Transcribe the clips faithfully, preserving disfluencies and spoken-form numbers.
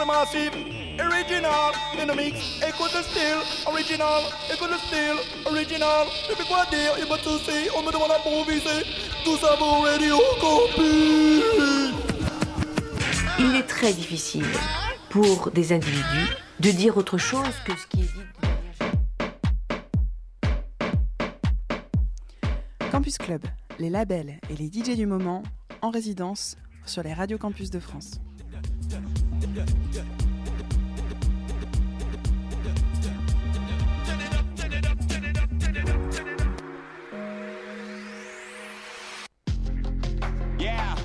the massive, original, in the mix, écoute le style, original, écoute le style, original, depuis quoi dire, il m'a tout dit, on me demande à improviser, tout ça pour Radio Campus. Il est très difficile pour des individus de dire autre chose que ce qui est dit. Campus Club, les labels et les D J du moment en résidence sur les radios campus de France. Yeah.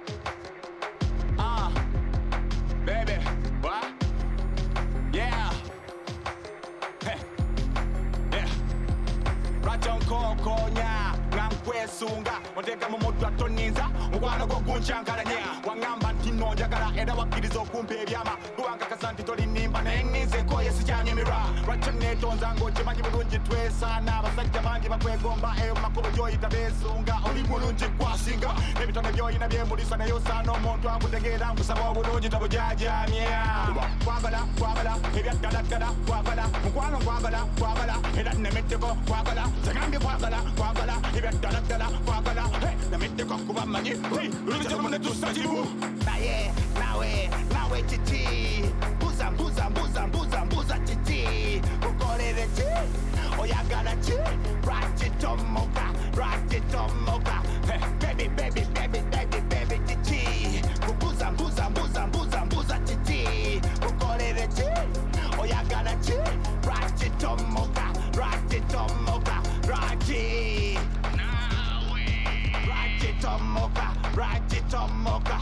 Uh, baby. What? Yeah. Hey. Yeah. Rajon Koko nya. Kwesunga ondeka mu mutwa toninza mukwana go kunjangalanya wangamba ntino njagala era wakirizo kumpe ebyama kubanga kazanti tolinimba nennize ko yesijanye mira rachane tonza ngo chimanyi bulungi twesana basajja bangi bakwegomba eyo makubo joyita besunga oli bulungi kwasinga ebitone byoyina byembulisa nayo sano omuntu akutegeera nkusaba obulungi tabujajamya kwagala kwagala ebyaddaladdala kwagala mukwano kwagala kwagala era nemetteko kwagala tegambye kwagala kwagala ebyaddala dala kwagala namette kwa kuba manyi ulije mune tusajibu naye nawe nawe titi buza buza buza buza buza titi ukolere ti oyagala ti right tomoka right tomoka baby baby baby baby baby titi buza buza buza buza buza titi ukolere ti oyagala ti right tomoka right tomoka right Tomoka, right it Tomoka,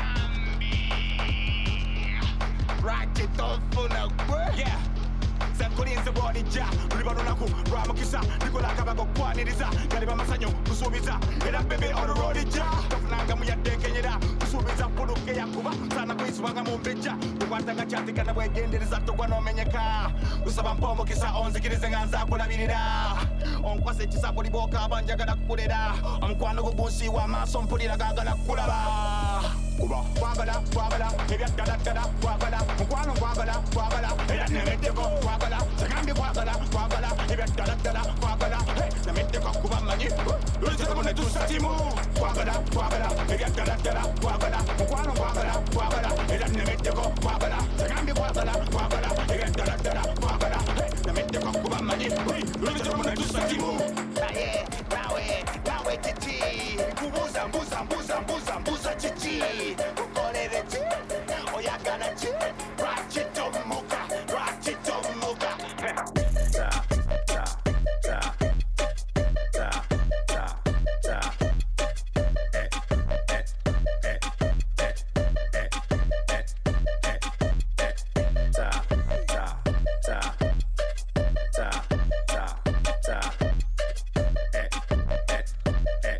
right it on full of work. Yeah. Kulinze body ja ulibarunaku rwamukisa nikola kabago kwaniriza kaliba masanyo kusubiza era bebe on the road ja kafunanga muyatekenyera kusubiza puluke yakuba sana kwisubanga mu mbeja kukwatanga cyatika na bwegendereza togwa no menyeka usaba mpombo kisa onzikirize nganza kulabirira onkwase kisako liboka abanjagala kukolera omukwano gugunsi wa maso mpulira gagala kulaba kuba kwagala kwagala ebyaddaladdala kwagala mukwano kwagala kwagala era nemeddeko kwagala tegambye kwagala kwagala ebyaddaladdala kwagala nemeddeko kuba manyi ulizemu ne tusatimu kwagala kwagala ebyaddaladdala kwagala mukwano kwagala kwagala era nemeddeko kwagala tegambye kwagala kwagala ebyaddaladdala kwagala nemeddeko kuba manyi ulizemu ne tusatimu naye nawe nawe titi kubuza mbuza mbuza mbuza mbuza titi ukolere ti oyagala ti rachitomoka rachitomoka ta ta ta ta ta ta eh eh eh eh eh eh eh ta ta ta ta ta ta eh eh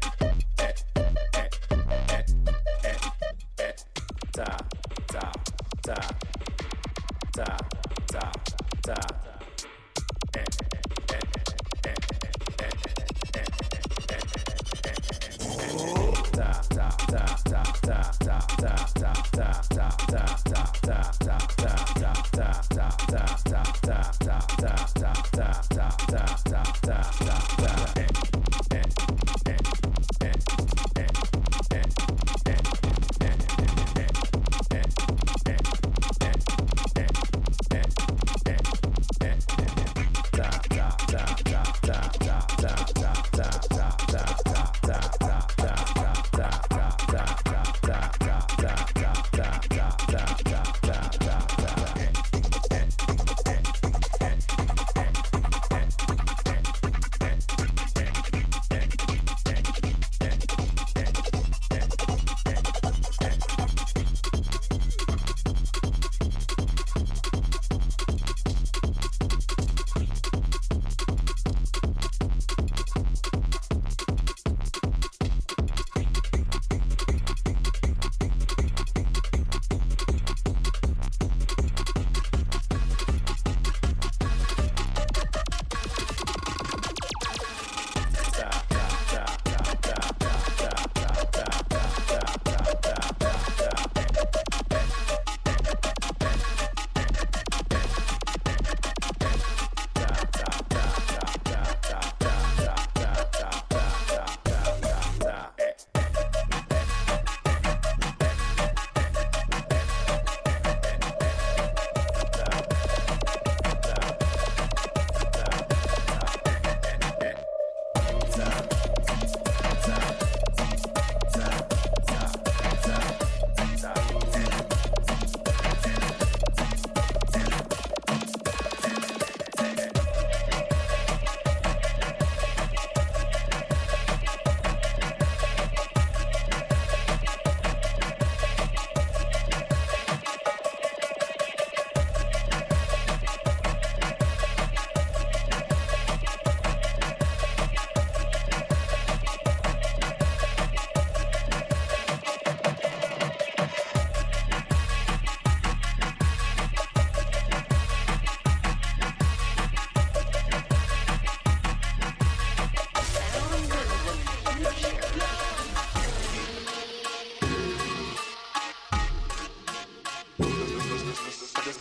eh ta ta ta ta ta ta eh eh eh eh ta ta ta ta ta ta ta ta ta ta ta ta ta ta ta ta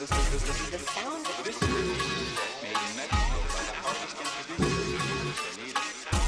this, this, this, this is the sound of this made in Mexico by the artists and producers. They need it.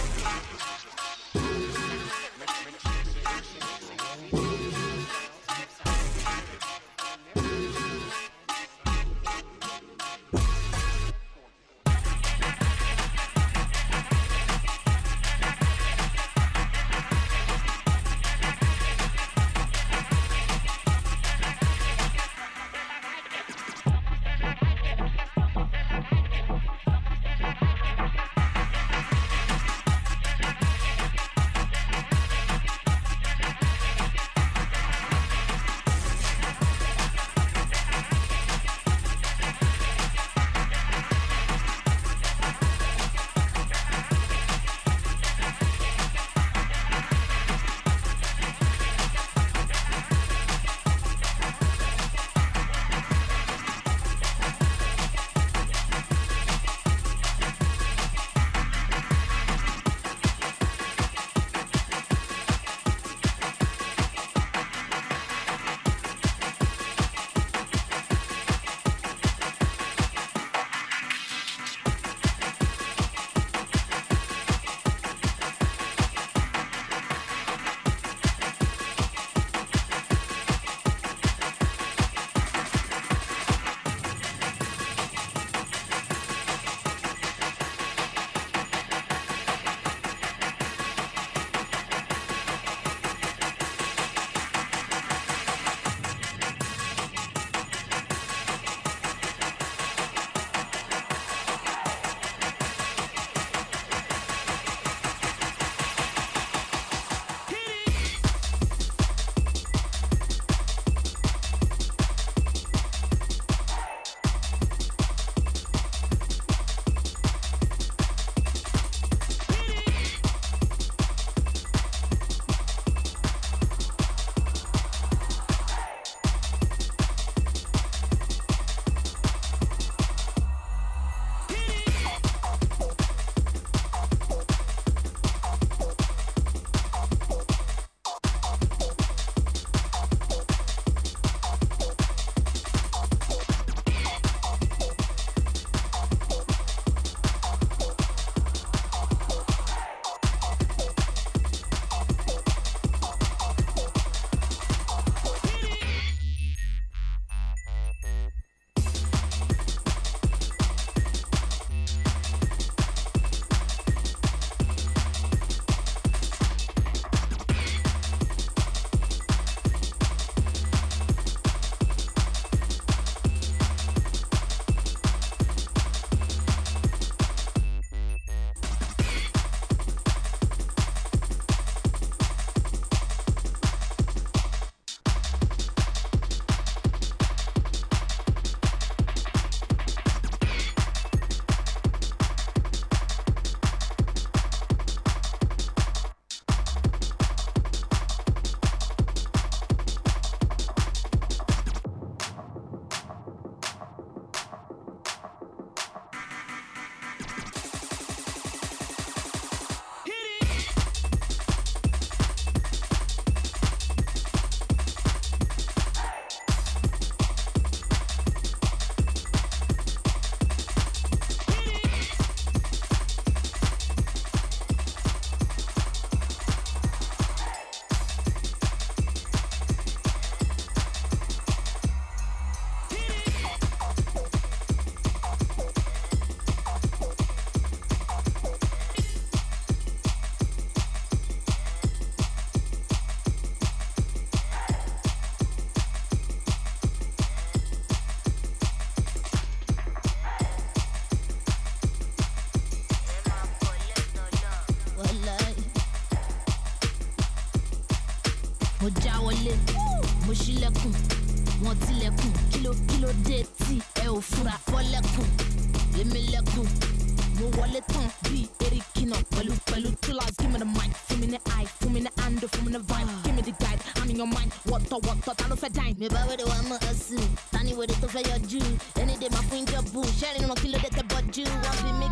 mo já wọlé mo ṣílẹ̀kùn wọ́n tilẹ̀kùn kíló kíló dé tí ẹ ò fura fọ́lẹ́kùn èmi lẹ́kùn mo wọlé tán bí erikina pẹ̀lú pẹ̀lú tools. Give me the mic, fún mi ní eye, fún mi ní handle, fún mi ní vibe. Give me the guide, I'm in your mind. Wọ́tọ̀ wọ́tọ̀ ta ló fẹ́ dine. Mi bá wẹ́rẹ́ wa mọ̀ ẹ́ sùn, tani wẹ́rẹ́ tó fẹ́ yọjú. Ẹni dè máa fún ìjọ bù, ṣẹ́rin ràn kí ló dé tẹ bọ́jú. Wọ́n bí mi kí ló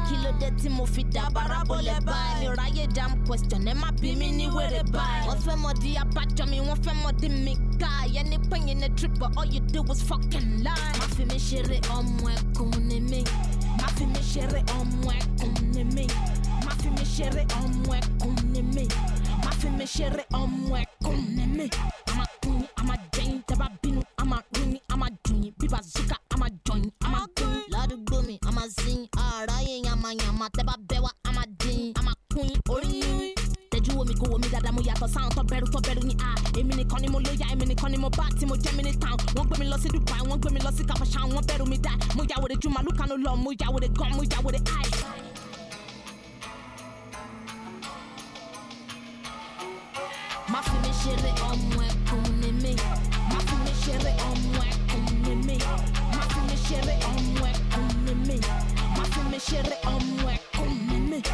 dé tí mo fi dá barabolẹ̀ báyìí. Mi ráyè damn question, ẹ má bí mi ní wèrè báyìí. Wọ́n fẹ́ mọ̀ di abájọ mi, wọ́n fẹ́ mọ̀ di mi ká. Ẹni pẹ́yìn ní trip, but all you do was fucking lie. Má fi mi ṣeré ọmọ ẹkùn ni mí. Má fi mi ṣeré ọmọ ẹkùn ni mí. Má fi mi ṣeré ọmọ ẹkùn ni mí. Má fi mi ṣeré ọmọ ẹkùn ni mí. Àmà kún yín, àmà jẹ́yìn, tẹ́ bá bínú, àmà rún yín, àmà dùn yín. Bí bazooka, àmà join, àmà gún yín. Ládùúgbò mi, àmà zin, àráyé yamayama, tẹ́ bá bẹ́ wá, àmà dín, àmà kún yín, orí yín. Tẹ́jú wo mi kó wo mi dáadáa, mo yàtọ̀ sáwọn tó bẹ̀rù tó bẹ̀rù ní a. Èmi nìkan ni mo lóya, èmi nìkan ni mo bá tí mo jẹ́ mi ní town. Wọ́n gbé mi lọ sí Dubai, wọ́n gbé mi lọ sí Kafashan, wọ́n bẹ̀rù mi dá. Mo yà wèrè ju màlúù kanu lọ, mo yà wèrè gan, mo yà wèrè eye. Má fi mi ṣeré ọmọ ẹkùn ni mí. Má fi mi ṣeré ọmọ ẹkùn ni mí. Má fi mi ṣeré ọmọ ẹkùn ni mí. Má fi mi ṣeré ọmọ ẹkùn ni mí.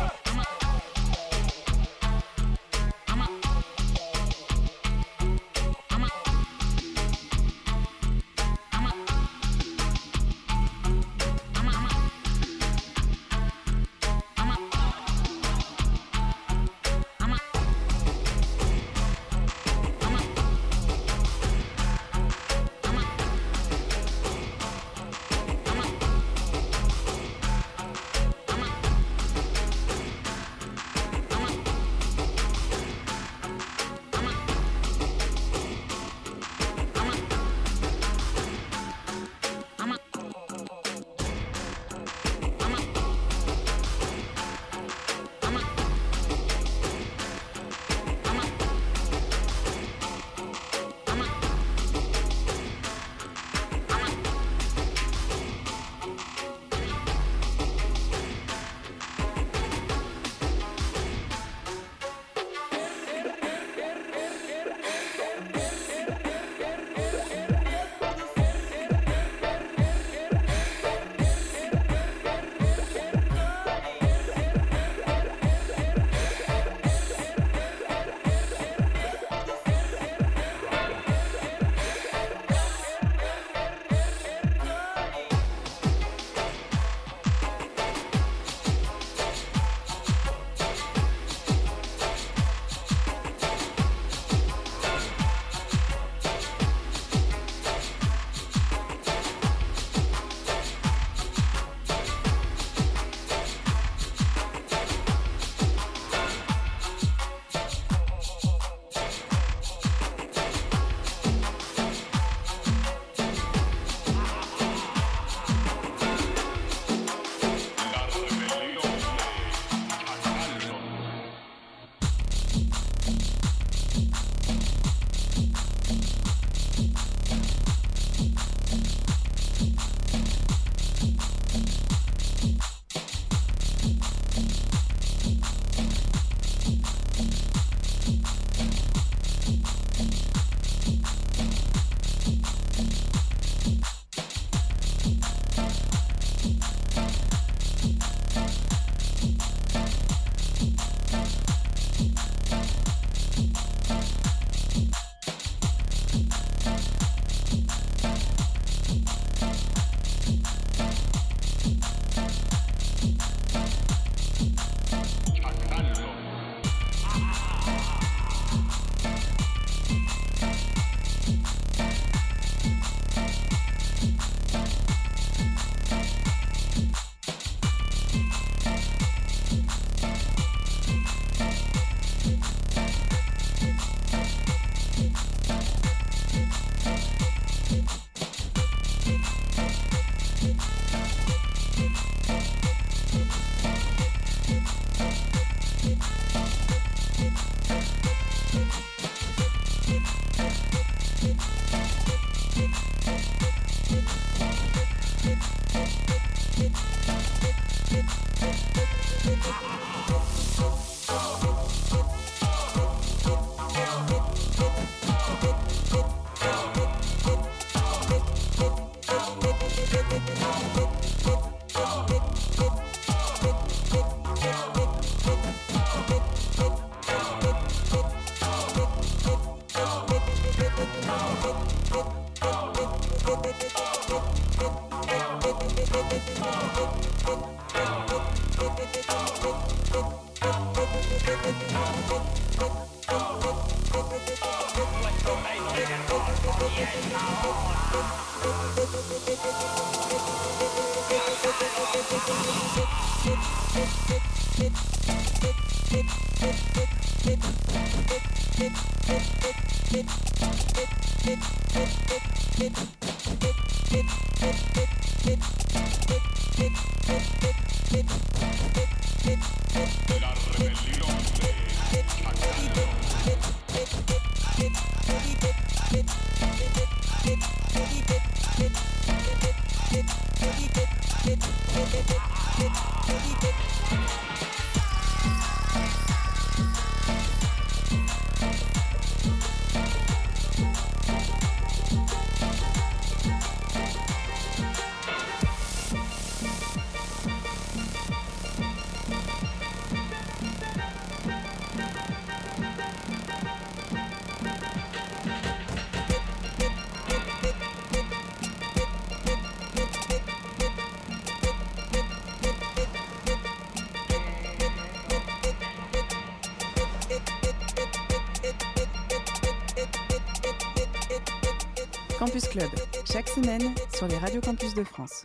Campus Club, chaque semaine sur les radios campus de France.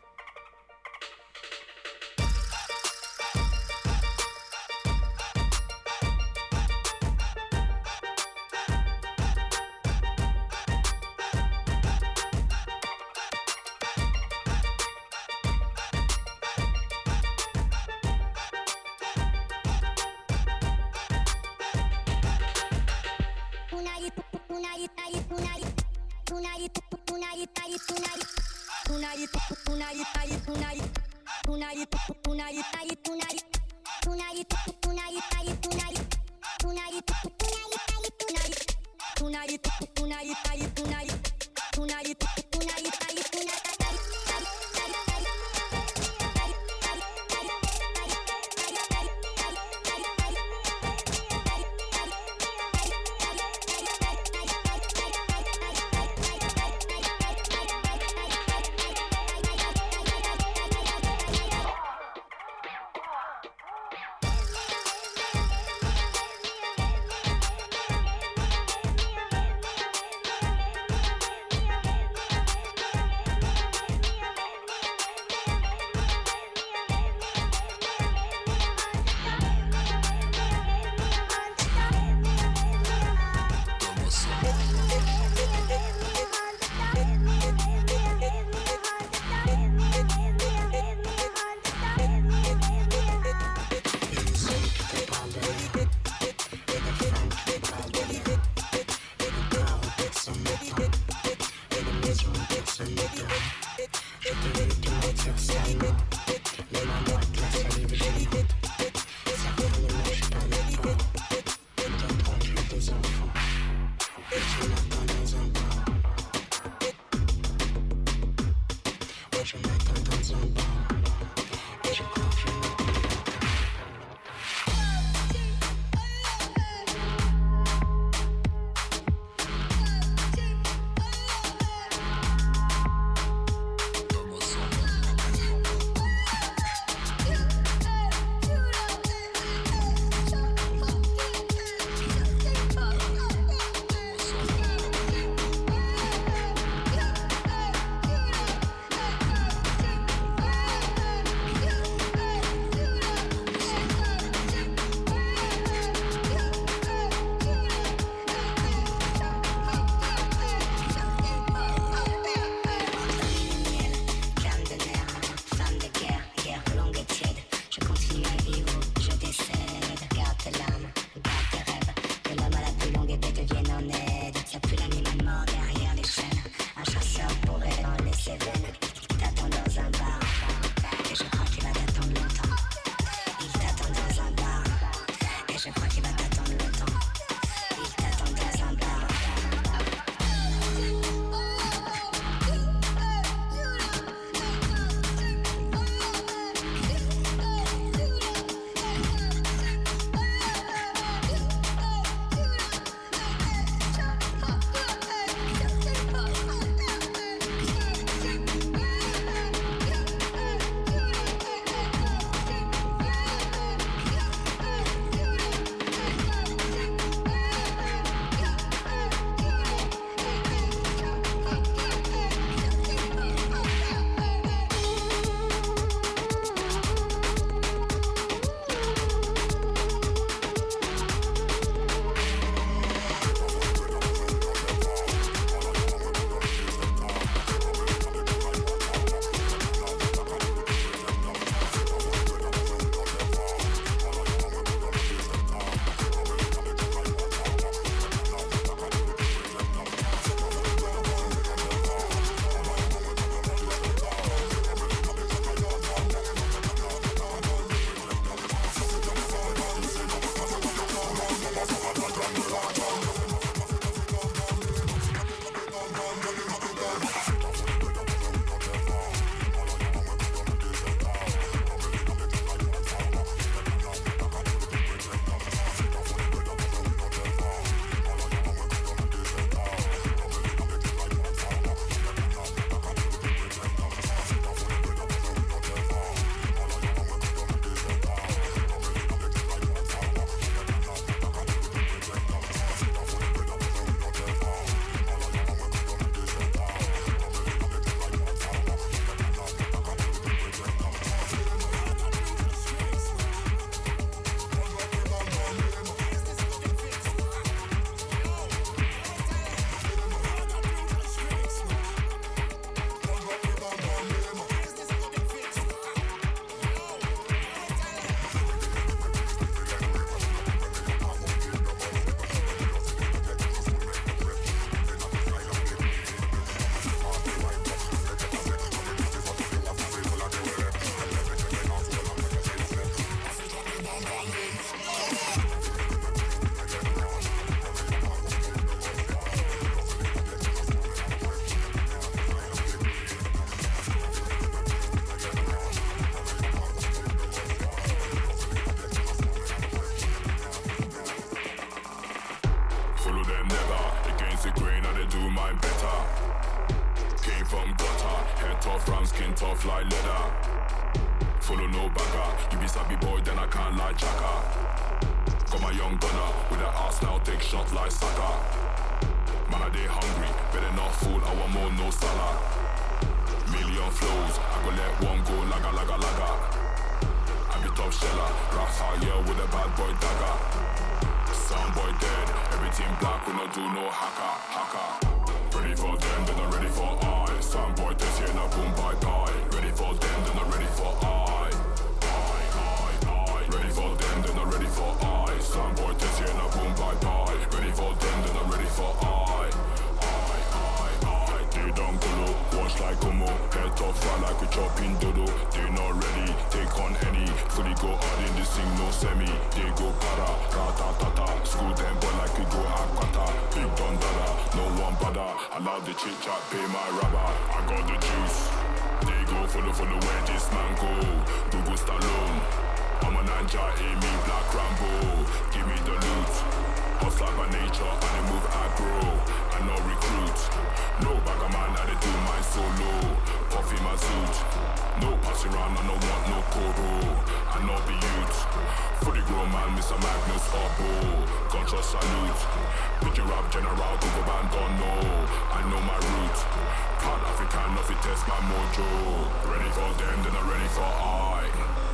tough, round skin tough like leather. Follow no bagger, you be sabi boy, then I can't lie jacker. Got my young gunner with that ass now, take shots like soccer. Man, I dey hungry, better not fool, I want more, no salad. Million flows, I go let one go, laga, laga, laga. I be top sheller, rap out, yeah, with a bad boy dagger. Sound boy dead, everything black, we not do no hacker, hacker. Ready for them, then I'm ready for I. Sound boy this here, now boom, bye, bye. Ready for them, then I'm ready for I. I, I, I. Ready for them, then I'm ready for I. Sound boy this here, now boom, bye, bye. Ready for them, then I'm ready for I. I, I, I. They don't go low, watch like Como. Head top fly like we chopping dodo. They not ready, take on any. Fully go hard in this thing, no semi. They go para, rata-tata. School them boy like we go hakata. Big don dada, no one bother. Allow the chit chat, pay my rubber. I got the juice. They go follow, follow where this man go. Google Stallone. I'm a ninja, Amy, Black Rambo. Give me the loot. Hustler by nature, and they move aggro. I no recruit. No bagger man, I they do my solo. Puffy my suit. No pass around, I no want no coro. I no be youth. Fully grown man, Mister Magnus Oppo. Gunshot salute. Picture rap general, Google band don't know. I know my route. Proud African, nothing test my mojo. Ready for them, then I'm ready for I.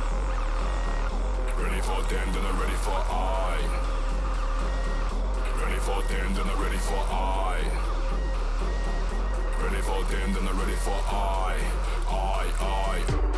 Ready for them, then I'm ready for I. Ready for them, then I'm ready for I. Ready for them, then I'm ready for I. I, I.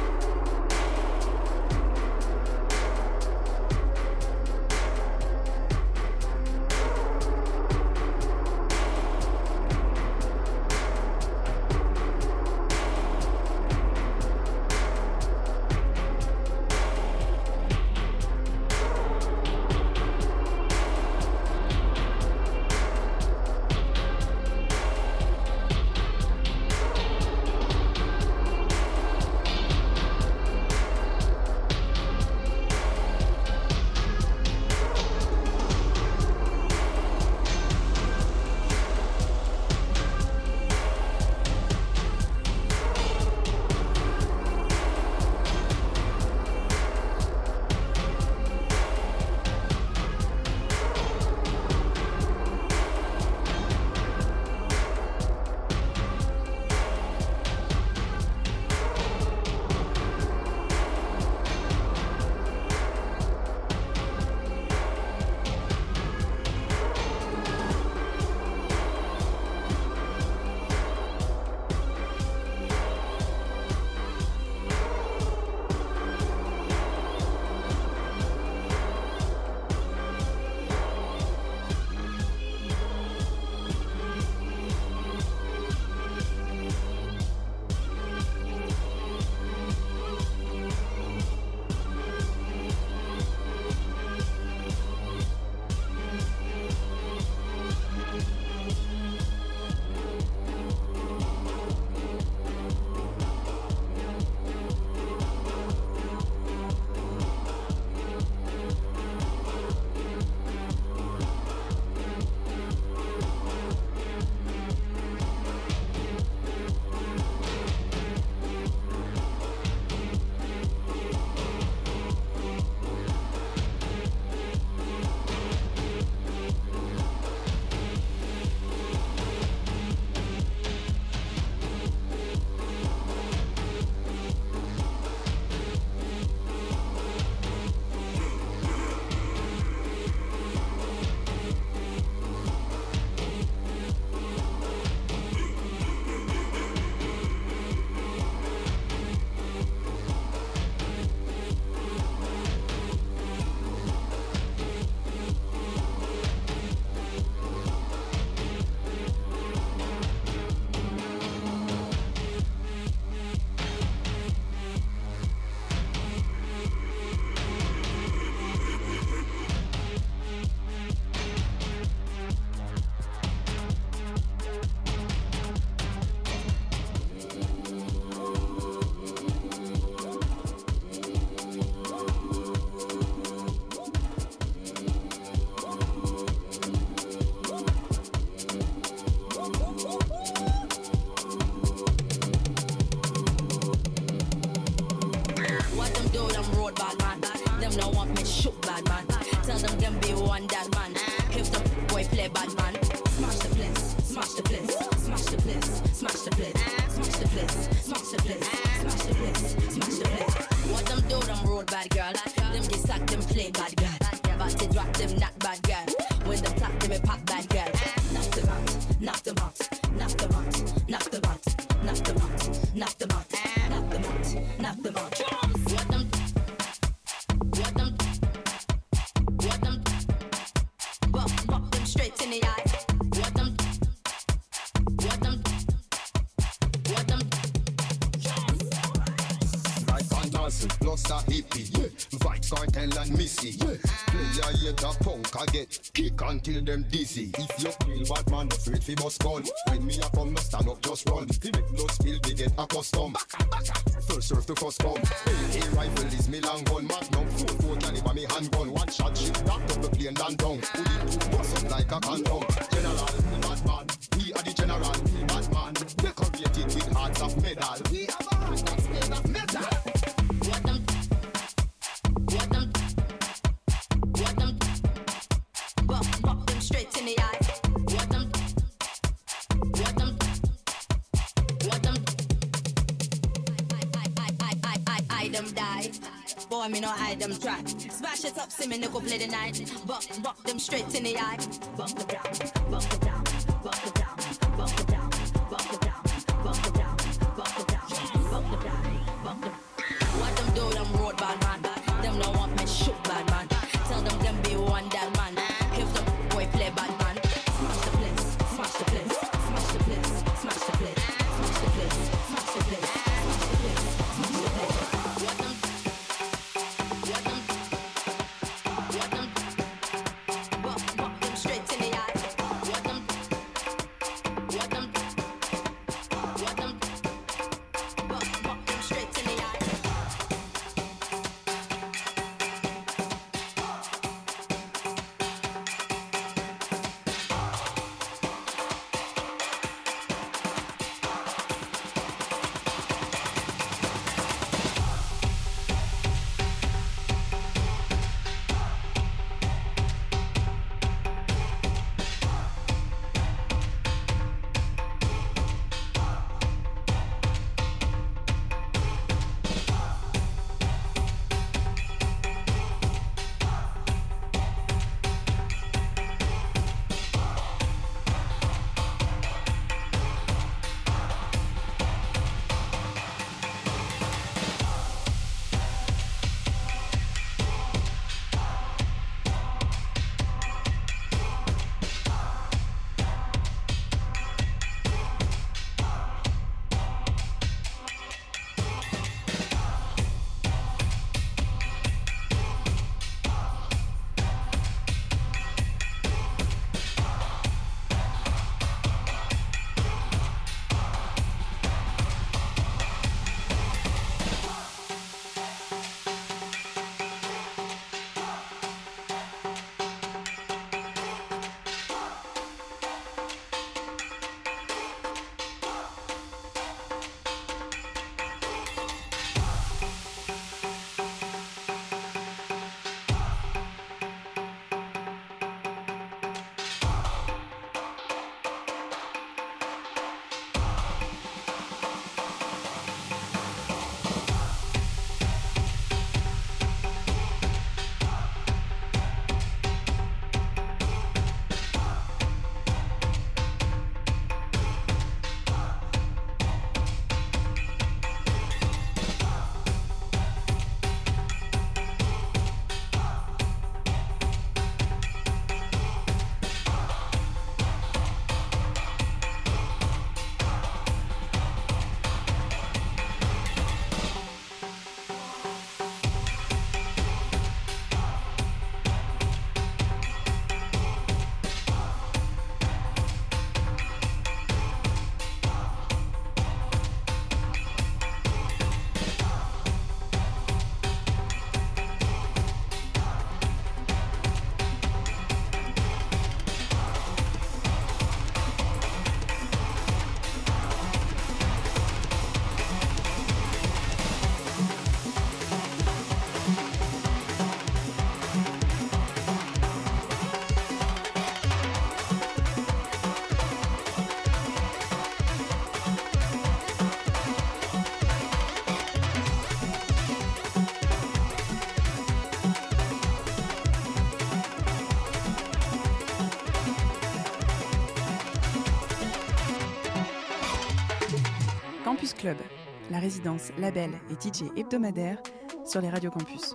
bad girl. Them get sacked, them play bad girl. But they drop them not bad girl. When them clap, them a pop bad girl. Knock them out, knock them out, knock them out, knock them out, knock them out, knock them out, knock them out, knock them out. What them, what them, what them, buck, buck them straight in the eye. What them, what them, what them. Right on dancing, plus a hippie, yeah. Fight cartel and missy, yeah. Player yet a punk, I get kick until them dizzy. If you feel bad man, afraid fi bust gun. When me a come, no stand up, just run. Fi make blood spill, we get accustomed. First serve to first come. Hey, rifle is me long gun. Magnum, four four caliber me handgun. One shot, shit, knocked up the plane and down. Put it to bust up like a condom. General, we bad man. We are the general, we bad man. Decorated with hearts of metal. We have a heart that's made of metal. What them, what them, what them, buck, buck them straight in the eye. What them, what them, what them, I, I, I, I, I, I, I them die. Boy, me no hide them try. Smash it up, see me no go play the night. Buck, buck them straight in the eye. Buck it down, buck it down, buck it down, buck it down, buck it down, buck it down, buck it down, buck it down, buck it. What them do, them road bad man. Them no want me shoot bad man. Tell them them be one that man. If the boy play bad man, smash the place, smash the place, smash the place, smash the place, smash the place, smash the place, smash the place, smash the place. What them, what them, what them, buck, buck them straight in the eye. What them, what them. Campus Club, la résidence label et D J hebdomadaire sur les radios campus.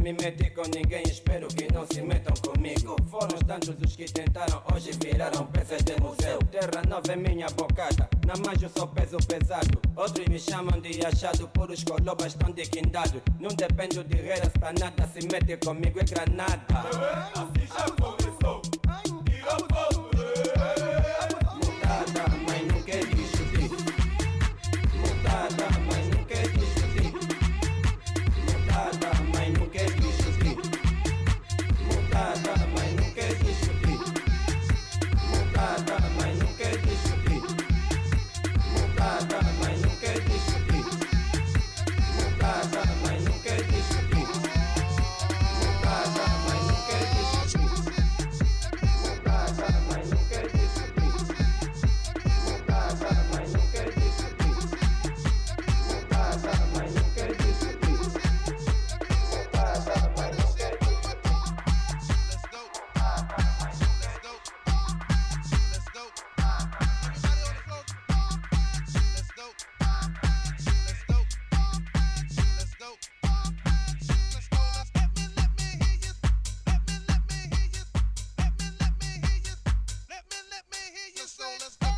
me meter com ninguém, espero que não se metam comigo. Foram tantos os que tentaram, hoje viraram peças de museu. Terra nova é minha bocada, na mão eu sou peso pesado. Outros me chamam de achado, por os colobas estão de quindado. Não dependo de reira, está nada, se mete comigo é granada. Assim já começou, tira fogo. Mutada, mas não quer discutir. Mutada, mas não quer discutir. Mutada, mas não quer discutir. Mutada, mas não quer discutir. Mutada, mas não quer discutir. Mutada, mas não quer discutir. Mutada, mas não quer discutir. Mutada, mas não quer discutir. Mutada, mas não quer discutir. Mutada, mas não quer discutir. Mutada, mas não quer discutir. Mutada, mas não quer discutir. Let's go. Let's go. Let's go. Everybody on the floor. Let's go. Let's go. Let's go. Let's go. Let's let me let me hear you. Let me let me hear you. Let me let me hear you. Let me let me hear you. So let's go.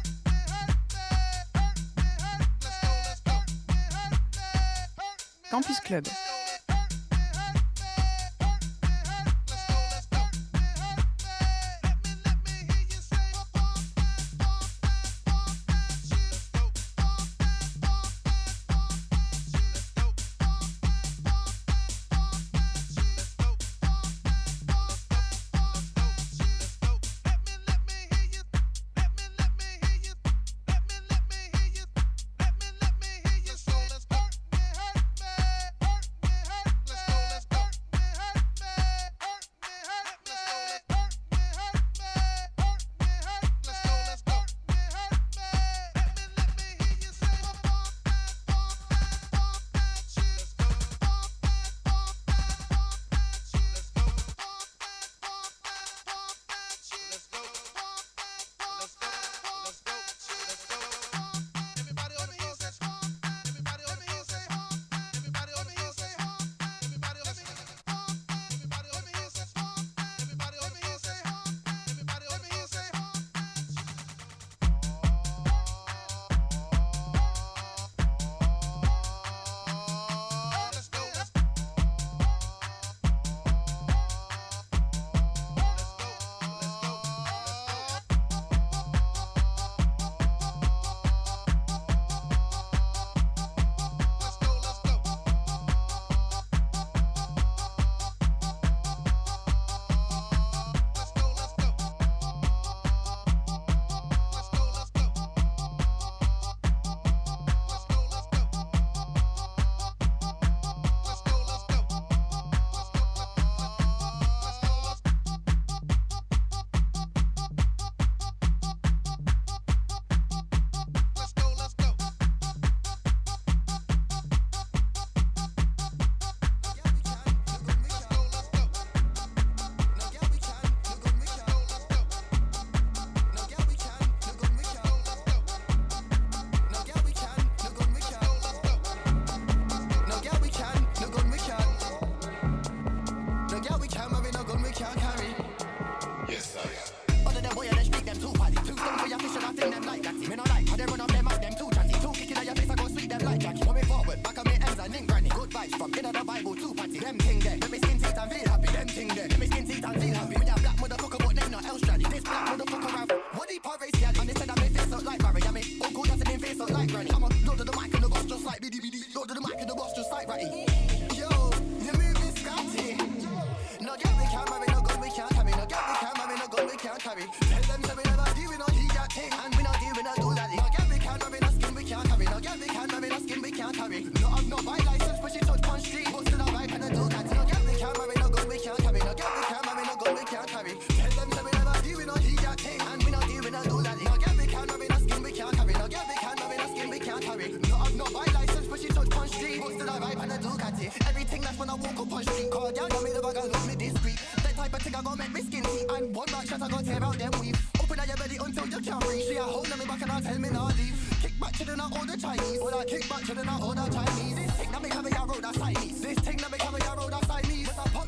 Campus Club. Kick back to the now order Chinese. This thing that me have a road, that's Chinese. With a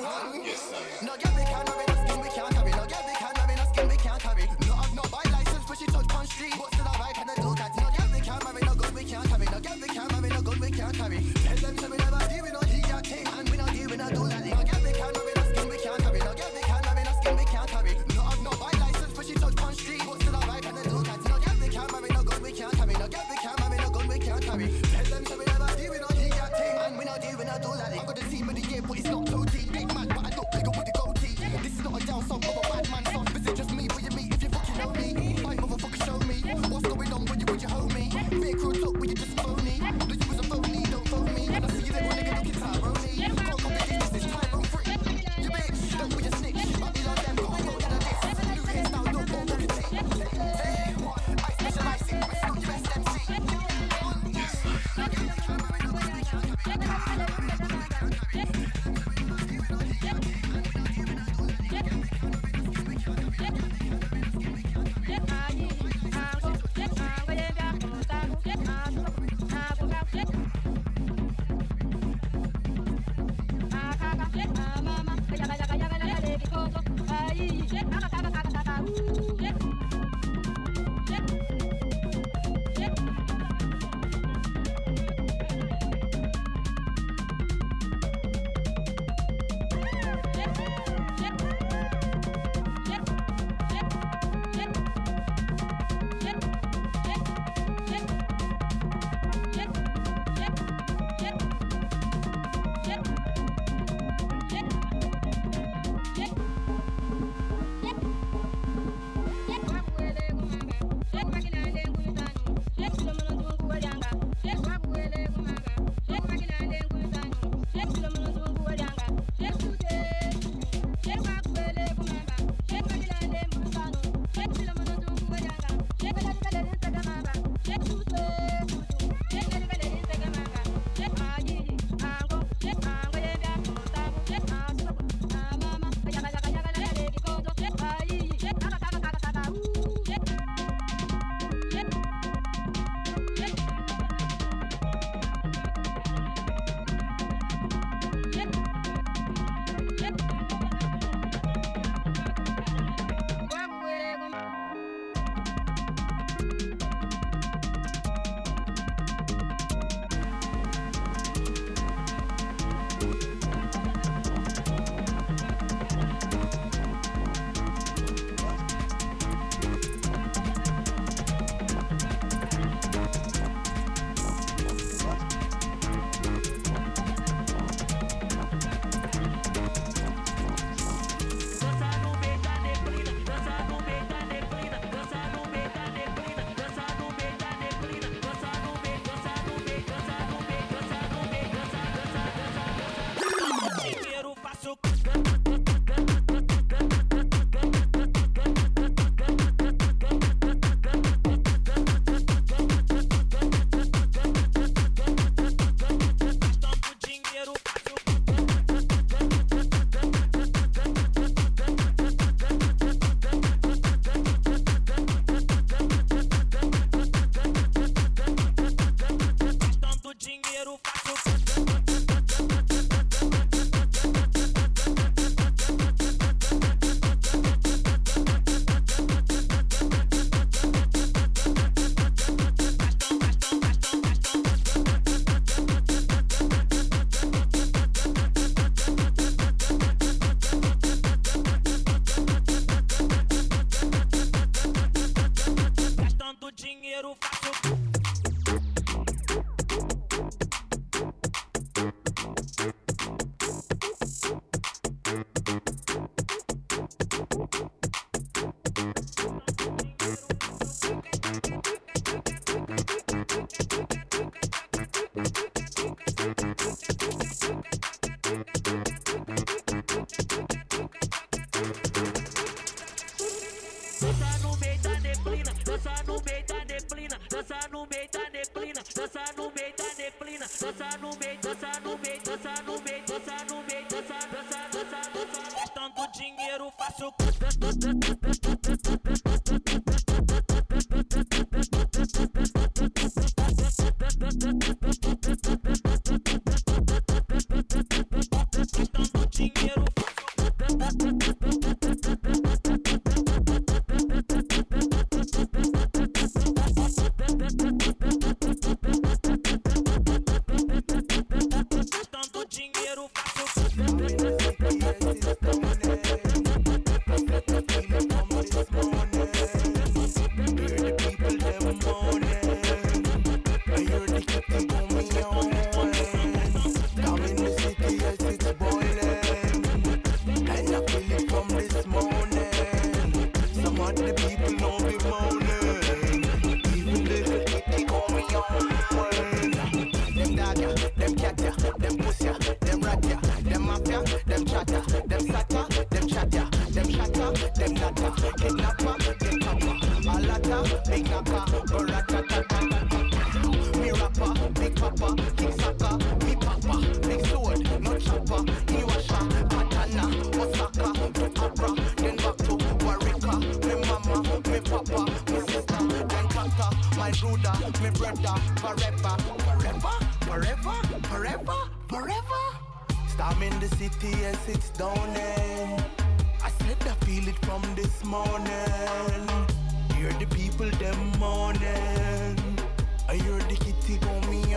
No girl we can't marry, no skin we can't carry. No girl we can't marry, no skin we can't carry. No have no buy license, but she touch on street. But still I ride and I do that. No girl we can't marry, no gun we can't carry. No girl we can't marry, no gun we can't carry. Tell them so we never deal with no hijab thing, and we no deal with no do that. No girl we can't marry, no skin we can't carry. No girl we can't marry, no skin we can't carry. No have no buy license, but she touch on street. But still I ride and I do that. No girl we can't marry, no gun we can't carry. No girl we can't marry, no gun we can't carry. Tell them so we never deal with no hijab thing, and we no deal with no do that. I got the team of the year, but it's not too deep. Big man, but I look bigger with the goatee. This is not a down song of a bad man song. This is just me, what you mean if you fucking know me. I motherfucker show me what's going on when you with your homie. Big crew talk when you just phony. No, you was a phony, don't phone me. And I see you little nigga looking Tyrone. Can't copy this, this is Tyrone free. You bitch, don't be a snitch. I be like them, go go down a list. New hairstyle, look more than a tick. Hey, I specialize in, it's not your best M C. dança no meio, dança no meio, dança no meio, dança no meio, dança, dança, dança, dança. Gastando dinheiro, faço gastando dinheiro. murder forever, forever, forever, forever, forever. Storm in the city, yes, it's dawning. I said I feel it from this morning. Hear the people them mourning. I hear the kitty go me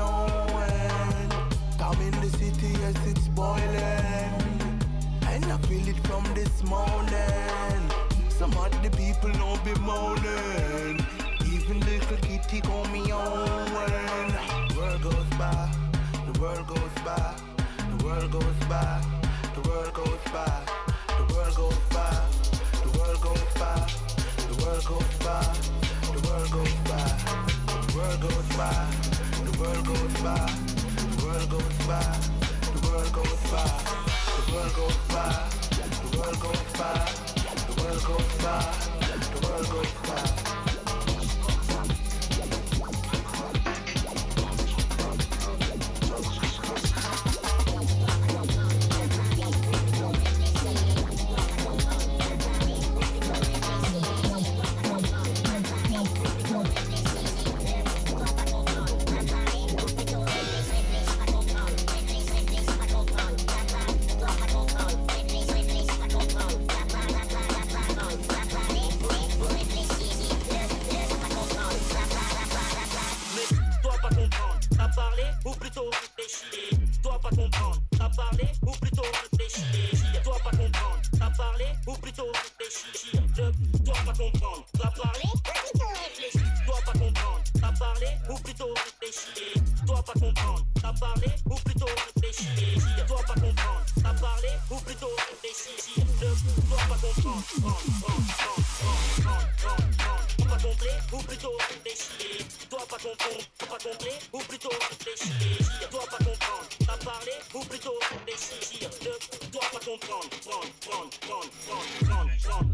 on. Storm in the city, yes, it's boiling. And I feel it from this morning. Some of the people no be moaning. Even little kitty call me on. The world goes by, the world goes by, the world goes by, the world goes by, the world goes by, the world goes by, the world goes by, the world goes by, the world goes by, the world goes by, the world goes by, the world goes by, the world goes by, the world goes by, the world goes by, the world goes by. comprendre, prendre, prendre, prendre, prendre, prendre, prendre.